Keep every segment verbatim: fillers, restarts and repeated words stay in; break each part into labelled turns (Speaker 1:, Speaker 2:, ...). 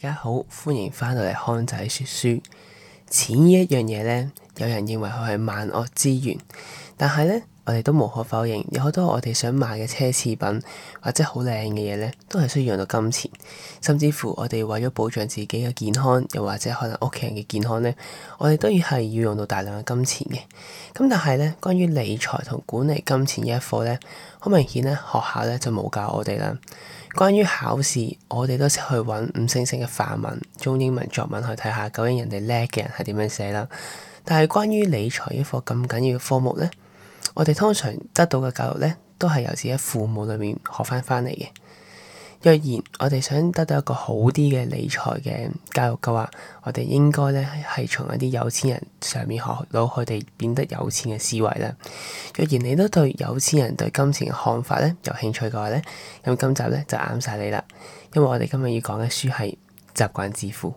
Speaker 1: 家好，歡迎翻到嚟康仔說書。錢呢一樣嘢呢，有人認為佢係萬惡之源，但係呢，我哋都無可否認，有好多我哋想買嘅奢侈品或者好靚嘅嘢呢，都係需要用到金錢。甚至乎我哋為咗保障自己嘅健康，又或者可能屋企人嘅健康呢，我哋都要係要用到大量嘅金錢嘅。咁但係呢，關於理財同管理金錢呢一課呢，好明顯呢，學校呢就冇教我哋啦。關於考試，我哋都識去揾五星星嘅範文、中英文作文去睇下，究竟人哋叻嘅人係點樣寫啦。但係關於理財呢課咁緊要嘅科目呢，我哋通常得到嘅教育呢，都係由自己父母裏面學翻翻嚟嘅。若然我哋想得到一個好啲嘅理財嘅教育嘅話，我哋應該咧係從一啲有錢人上面學到佢哋變得有錢嘅思維啦。若然你都對有錢人對金錢嘅看法咧有興趣嘅話咧，咁今集咧就啱晒你啦，因為我哋今日要講嘅書係習慣致富。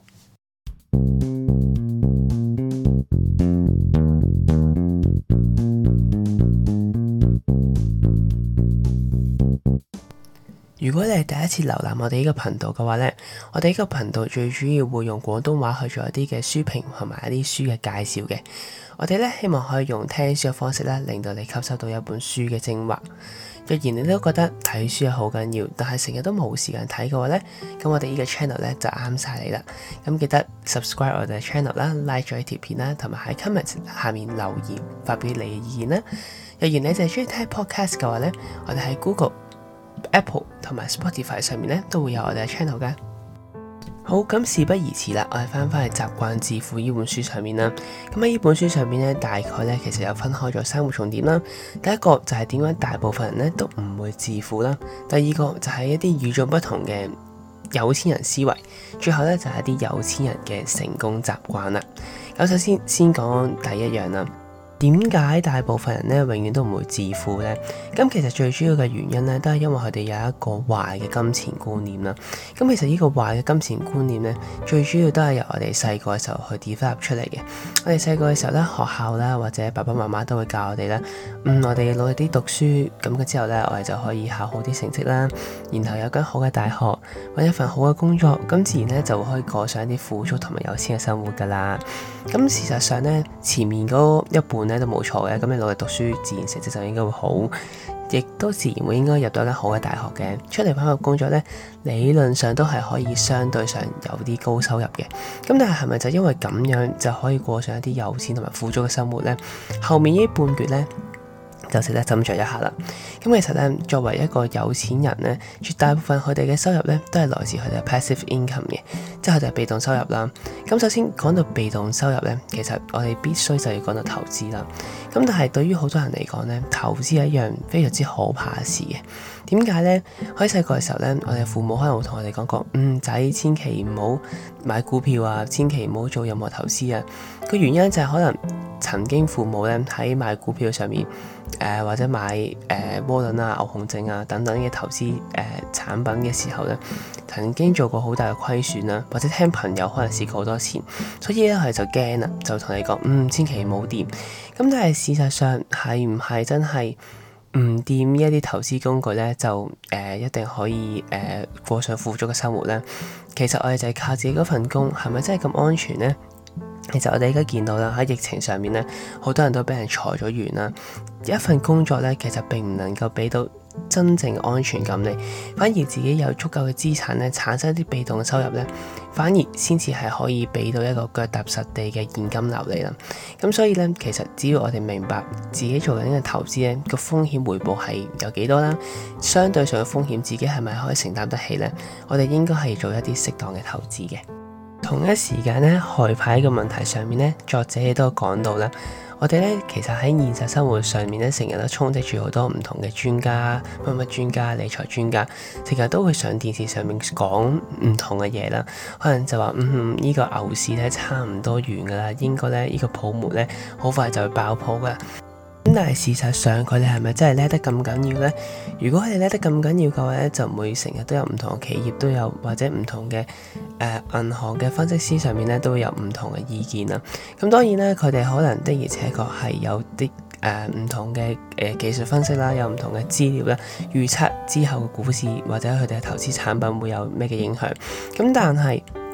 Speaker 1: 如果你係第一次瀏覽我哋呢個頻道嘅話呢，我哋呢個頻道最主要會用廣東話去做一啲嘅書評同埋一啲書嘅介紹嘅。我哋呢希望可以用聽書嘅方式咧，令到你吸收到一本書嘅精華。若然你都覺得睇書係好緊要，但係成日都冇時間睇嘅話呢，咁我哋呢個 channel 呢就啱晒你啦。咁記得 subscribe 我哋嘅 channel 啦 ，like 咗呢條片啦，同埋喺 comment 下面留言發表你嘅意見啦。若然你就係中意聽 podcast 嘅話呢，我哋喺 Google、Apple 同埋 Spotify 上面咧都會有我哋嘅 channel 噶。好，咁事不宜遲啦，我哋翻返去習慣致富呢本書上面啦。咁喺呢本書上面咧，大概咧其實有分開咗三個重點啦。第一個就係點解大部分人咧都唔會致富啦。第二個就係一啲與眾不同嘅有錢人思維。最後咧就係一啲有錢人嘅成功習慣啦。咁首先先講第一樣啦。點解大部分人咧永遠都唔會致富呢？咁其實最主要嘅原因咧，都係因為佢哋有一個壞嘅金錢觀念啦。咁其實呢個壞嘅金錢觀念咧，最主要都係由我哋細個嘅時候去 develop 出嚟嘅。我哋細個嘅時候咧，學校啦或者爸爸媽媽都會教我哋啦，嗯，我哋努力啲讀書，咁之後咧，我哋就可以考好啲成績啦，然後有間好嘅大學，搵一份好嘅工作，咁自然咧就會可以過上一啲富足同埋有錢嘅生活噶啦。咁事實上咧，前面嗰一半咧都冇錯嘅，咁你努力讀書，自然成績就應該會好，亦都自然會應該入到一間好嘅大學嘅。出嚟返個工作咧，理論上都係可以相對上有啲高收入嘅。咁但係係咪就因為咁樣就可以過上一啲有錢同埋富足嘅生活咧？後面呢半橛咧就值得斟酌一下啦。咁其實咧，作為一個有錢人咧，絕大部分佢哋嘅收入咧都係來自佢哋嘅 passive income 嘅，即係佢哋係被動收入啦。咁首先講到被動收入咧，其實我哋必須就要講到投資啦。咁但係對於好多人嚟講咧，投資係一樣非常之可怕嘅事嘅。點解咧？喺細個嘅時候咧，我哋父母可能會同我哋講過，嗯，仔千祈唔好買股票啊，千祈唔好做任何投資啊。個原因就係可能曾經父母咧喺買股票上面，誒、呃、或者買誒窩輪啊、牛熊證啊等等嘅投資誒、呃、產品嘅時候咧，曾經做過好大嘅虧損啦，或者聽朋友可能蝕過好多錢，所以咧佢哋就驚啦，就同你講，嗯，千祈唔好掂。咁但係事實上係唔係真係唔掂呢一啲投資工具咧，就誒、呃、一定可以誒、呃、過上富足嘅生活咧？其實我哋就係靠自己嗰份工，係咪真係咁安全咧？其實我哋而家見到啦，喺疫情上面咧，好多人都俾人裁咗員啦。一份工作咧，其實並唔能夠俾到真正安全感你，反而自己有足夠嘅資產咧，產生一啲被動嘅收入咧，反而先至係可以俾到一個腳踏實地嘅現金流嚟啦。咁所以咧，其實只要我哋明白自己做緊嘅投資咧，個風險回報係有幾多啦，相對上嘅風險自己係咪可以承擔得起咧？我哋應該係做一啲適當嘅投資嘅。同一時間咧，害怕嘅問題上面咧，作者亦都講到啦。我哋咧其實喺現實生活上面咧，成日都充斥住好多唔同嘅專家、乜乜專家、理財專家，成日都會上電視上面講唔同嘅嘢啦。可能就話嗯，呢個牛市咧差唔多完噶啦，應該咧呢個泡沫咧好快就會爆破噶。咁但係事實上佢哋係咪真係叻得咁緊要呢？如果佢哋叻得咁緊要嘅話咧，就唔會成日都有唔同嘅企業都有，或者唔同嘅誒銀行嘅分析師上面咧都會有唔同嘅意見啦。咁當然啦，佢哋可能的而且確係有啲誒唔同嘅誒、呃、技術分析啦，有唔同嘅資料啦，預測之後嘅股市或者佢哋嘅投資產品會有咩嘅影響。咁但係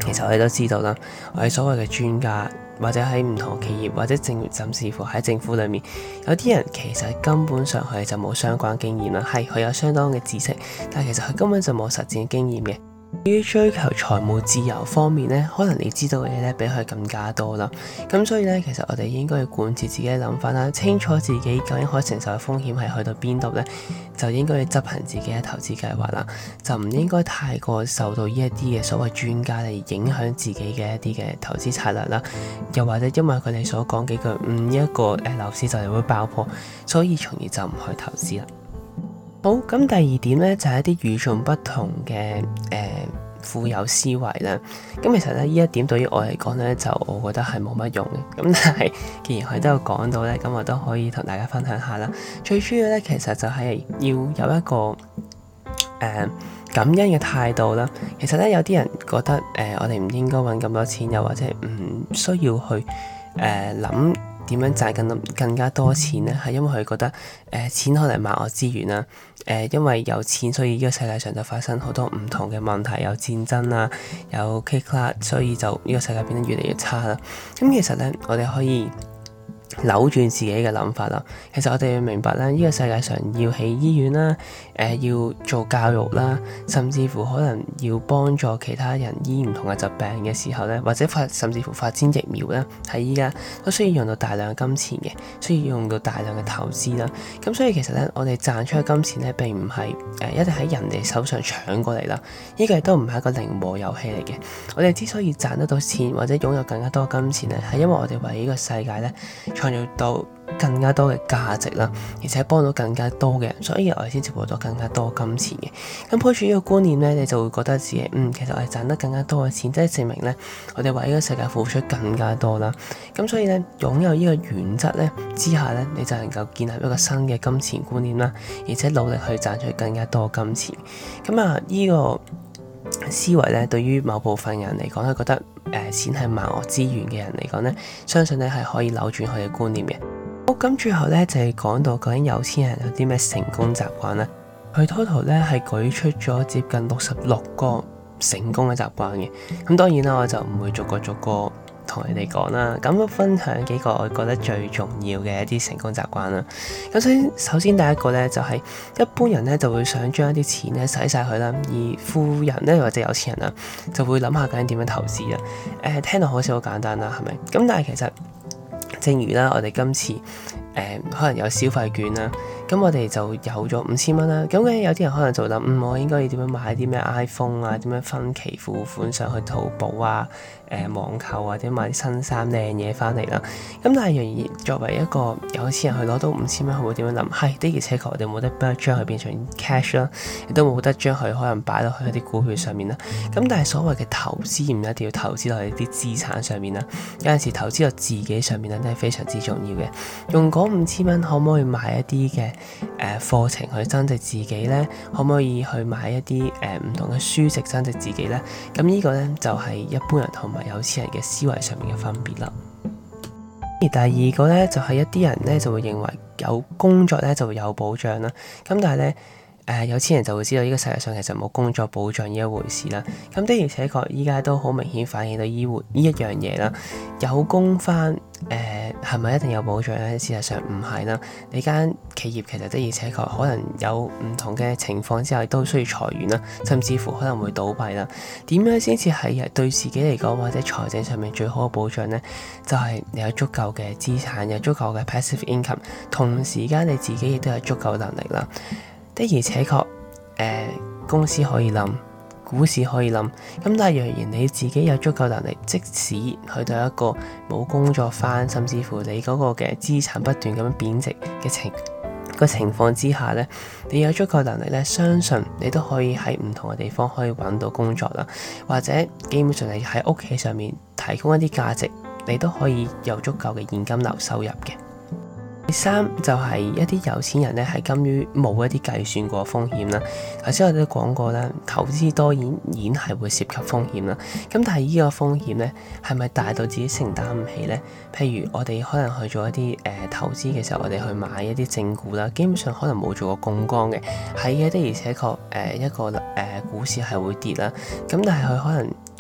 Speaker 1: 其實我哋都知道啦，我哋所謂嘅專家，或者喺唔同企業或者政甚至乎喺政府裏面，有啲人其實根本上佢就冇相關經驗啦，係佢有相當嘅知識，但係其實佢根本就冇實戰經驗嘅。至於追求財務自由方面咧，可能你知道嘅嘢咧比佢更加多啦。咁所以咧，其實我哋應該要貫徹自己嘅諗法啦，清楚自己究竟可以承受嘅風險係去到邊度咧，就應該要執行自己嘅投資計劃啦，就唔應該太過受到呢一啲嘅所謂專家嚟影響自己嘅一啲嘅投資策略啦。又或者因為佢哋所講幾句，嗯，一個誒樓市就係會爆破，所以從而就唔去投資啦。好，咁第二點咧就係、是、一啲與眾不同嘅誒、呃、富有思維啦。咁其實咧呢一點對於我嚟講咧，就我覺得係冇乜用嘅。咁但係既然佢都有講到咧，咁我都可以同大家分享下啦。最主要咧，其實就係要有一個誒、呃、感恩嘅態度啦。其實咧有啲人覺得誒、呃、我哋唔應該揾咁多錢，又或者唔需要去誒諗。呃點樣賺更更加多錢呢？係因為佢覺得誒、呃、錢可能係萬惡之源啦。誒、呃，因為有錢，所以呢個世界上就發生好多唔同嘅問題，有戰爭啦，有 kick 啦，所以就呢個世界變得越嚟越差啦。咁、嗯、其實咧，我哋可以扭轉自己嘅諗法啦。其實我哋要明白咧，呢、這個世界上要起醫院啦，誒、呃、要做教育啦，甚至乎可能要幫助其他人醫唔同嘅疾病嘅時候咧，或者發甚至乎發展疫苗咧，喺依家都需要用到大量嘅金錢嘅，需要用到大量嘅投資啦。咁所以其實咧，我哋賺出嘅金錢咧並唔係誒一定喺人哋手上搶過嚟啦。呢、這個亦都唔係一個零和遊戲嚟嘅。我哋之所以賺得到錢或者擁有更加多金錢咧，係因為我哋為呢個世界咧創造到更加多嘅價值啦，而且幫到更加多嘅人，所以我哋先至獲到更加多金錢嘅。咁抱住呢個觀念咧，你就會覺得自己嗯，其實我哋賺得更加多嘅錢，即係證明咧，我哋為呢個世界付出更加多啦。咁所以咧，擁有呢個原則咧之下咧，你就能夠建立一個新嘅金錢觀念啦，而且努力去賺取更加多金錢。咁啊，呢個思維咧，對於某部分人嚟講，佢覺得誒、呃、錢係萬惡之源嘅人嚟講咧，相信咧係可以扭轉佢嘅觀念嘅。好，咁最後咧就係、是、講到究竟有錢人有啲咩成功習慣咧？佢 total 咧係舉出咗接近六十六個成功嘅習慣嘅。咁當然啦，我就唔會逐個逐個同你哋講啦。咁分享幾個我覺得最重要嘅一啲成功習慣啦。咁首先，首先第一個咧就係、是、一般人咧就會想將一啲錢咧使晒佢啦，而富人咧或者有錢人啦就會諗下究竟點樣投資啊。誒、呃，聽到好似好簡單啦，係咪？咁但係其實正如啦，我哋今次誒、呃、可能有消費券啦，咁我哋就有咗五千蚊啦。咁嘅有啲人可能就諗，嗯，我應該要點樣買啲咩 iPhone 啊？點樣分期付款上去淘寶啊？誒、呃、網購或者買啲新衫靚嘢翻嚟啦。咁但係仍然作為一個有錢人去攞到五千蚊，佢會點樣諗？係的而且確，我哋冇得將佢變成 cash 啦，亦都冇得將佢可能擺落去一啲股票上面啦。咁但係所謂嘅投資唔一定要投資落去啲資產上面啦，有陣時投資落自己上面咧都係非常之重要嘅。用嗰五千蚊可唔可以買一啲嘅誒課程去增值自己咧？可唔可以去買一啲誒唔同嘅書籍增值自己咧？咁呢個咧就係、是、一般人同埋有錢人嘅思維上面嘅分別啦。而第二個咧就係、是、一啲人咧就會認為有工作咧就會有保障啦。咁但係咧誒有錢人就會知道呢個世界上其實冇工作保障呢一回事啦。咁的而且確依家都好明顯反映到呢回呢一樣嘢啦。有工返誒係咪一定有保障咧？事實上唔係啦。你間企業其實的而且確可能有唔同嘅情況之下都需要裁員啦，甚至乎可能會倒閉啦。點樣先至係對自己嚟講或者財政上面最好嘅保障咧？就係、是、你有足夠嘅資產，有足夠嘅 passive income， 同時間你自己亦都有足夠能力啦。的而且確，誒、呃、公司可以冧，股市可以冧，咁但係若然你自己有足夠能力，即使去到一個冇工作返，甚至乎你嗰個嘅資產不斷咁樣貶值嘅情個情況之下咧，你有足夠能力咧，相信你都可以喺唔同嘅地方可以揾到工作啦，或者基本上你喺屋企上面提供一啲價值，你都可以有足夠嘅現金流收入嘅。第三就係、是、一啲有錢人咧，係甘於冇一啲計算過風險啦。頭先我哋都講過啦，投資多然然係會涉及風險啦。咁但係呢個風險咧，係咪大到自己承擔唔起咧？譬如我哋可能去做一啲誒、呃、投資嘅時候，我哋去買一啲正股啦，基本上可能冇做過槓桿嘅，係嘅的而且確誒一個誒、呃、股市係會跌啦。咁但係佢可能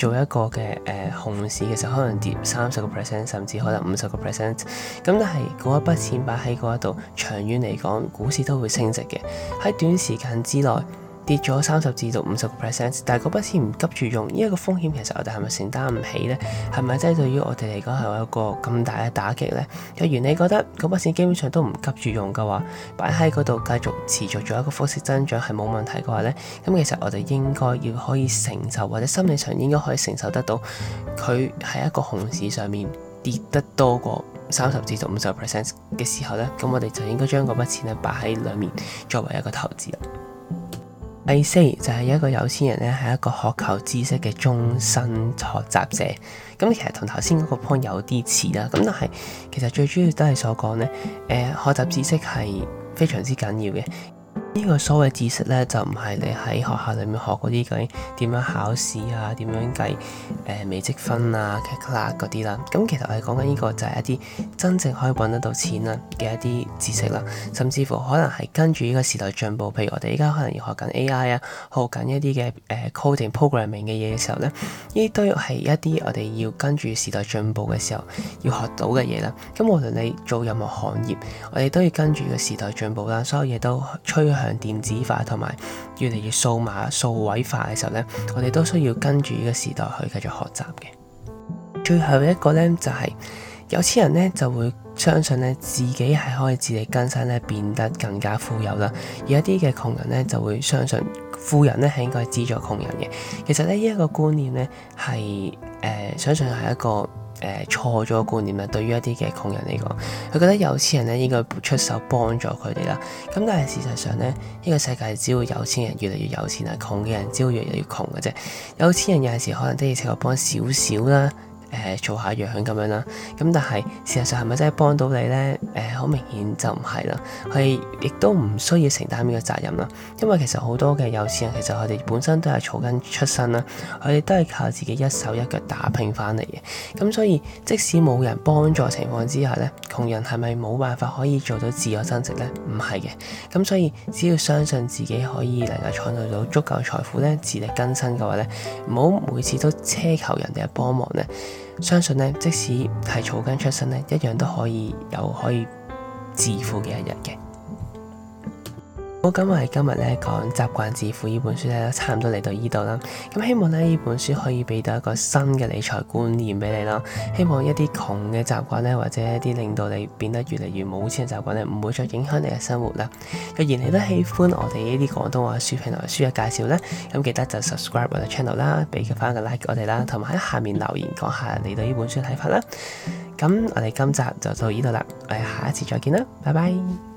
Speaker 1: 做一個嘅誒、呃、熊市嘅時候，可能跌三十個 percent， 甚至可能五十個 percent。咁但係嗰一筆錢擺喺嗰一度，長遠嚟講，股市都會升值嘅。喺短時間之內跌咗三十至到五十個 percent， 但係嗰筆錢唔急住用，呢一個風險其實我哋係咪承擔唔起呢？係咪真係對於我哋嚟講係有一個咁大嘅打擊呢？若然你覺得嗰筆錢基本上都唔急住用嘅話，擺喺嗰度繼續持續做一個複式增長係冇問題嘅話呢，咁其實我哋應該要可以承受，或者心理上應該可以承受得到，佢喺一個熊市上面跌得多過三十至到五十個 percent 嘅時候呢，咁我哋就應該將嗰筆錢咧擺喺裡面作為一個投資啦。第四就係一個有錢人咧，係一個渴求知識嘅終身學習者。咁其實同頭先嗰個 point 有啲似啦。咁但係其實最主要都係所講咧，誒、呃、學習知識係非常之緊要嘅。呢個所謂知識咧，就唔係你喺學校裏面學嗰啲究竟點樣考試啊，點樣計誒、呃、微積分啊、calculus 嗰啲啦。咁其實我哋講緊呢個就係一啲真正可以揾得到錢啦嘅一啲知識啦，甚至乎可能係跟住呢個時代進步。譬如我哋而家可能要學緊 A I 啊，學緊一啲嘅誒 coding programming 嘅嘢嘅時候咧，呢啲都係一啲我哋要跟住時代進步嘅時候要學到嘅嘢啦。咁無論你做任何行業，我哋都要跟住個時代進步啦，所有嘢都趨向電子化同埋越嚟越數碼數位化嘅時候呢，我哋都需要跟住呢個時代去繼續學習嘅。最後一個呢，就係、是、有錢人呢就會相信呢自己係可以自力更生呢，變得更加富有啦，而一啲嘅窮人呢就會相信富人呢係應該資助窮人嘅。其實呢，呢、這、一個觀念呢係誒、呃、相信係一個誒錯咗嘅觀念啦，對於一啲嘅窮人嚟講，佢覺得有錢人咧應該出手幫助佢哋啦。咁但係事實上咧，呢、這個世界只會有錢人越嚟越有錢啦，窮嘅人只會越嚟越窮嘅啫。有錢人有陣時可能都要請我幫少少啦。誒、呃、做下樣咁樣啦，咁但係事實上係咪真係幫到你呢？誒、呃、好明顯就唔係啦，佢亦都唔需要承擔呢個責任啦。因為其實好多嘅有錢人其實佢哋本身都係草根出身啦，佢哋都係靠自己一手一腳打拼翻嚟嘅。咁所以即使冇人幫助情況之下呢，窮人係咪冇辦法可以做到自我增值呢？唔係嘅。咁所以只要相信自己可以能夠創造到足夠財富呢，自力更生嘅話呢，唔好每次都奢求人哋嘅幫忙呢。相信咧，即使係草根出身咧，一樣都可以有可以致富嘅一日嘅。好，咁我哋今日咧講習慣致富呢本書咧，差唔多嚟到呢度啦。咁希望咧呢本書可以俾到一個新嘅理財觀念俾你啦。希望一啲窮嘅習慣咧，或者一啲令到你變得越嚟越冇錢嘅習慣咧，唔會再影響你嘅生活啦。若然你都喜歡我哋呢啲廣東話書評同埋書嘅介紹咧，咁記得就 subscribe 我哋 channel 啦，俾翻個 like 我哋啦，同埋喺下面留言講下你對呢本書嘅睇法啦。咁我哋今集就到呢度啦，我哋下一次再見啦，拜拜。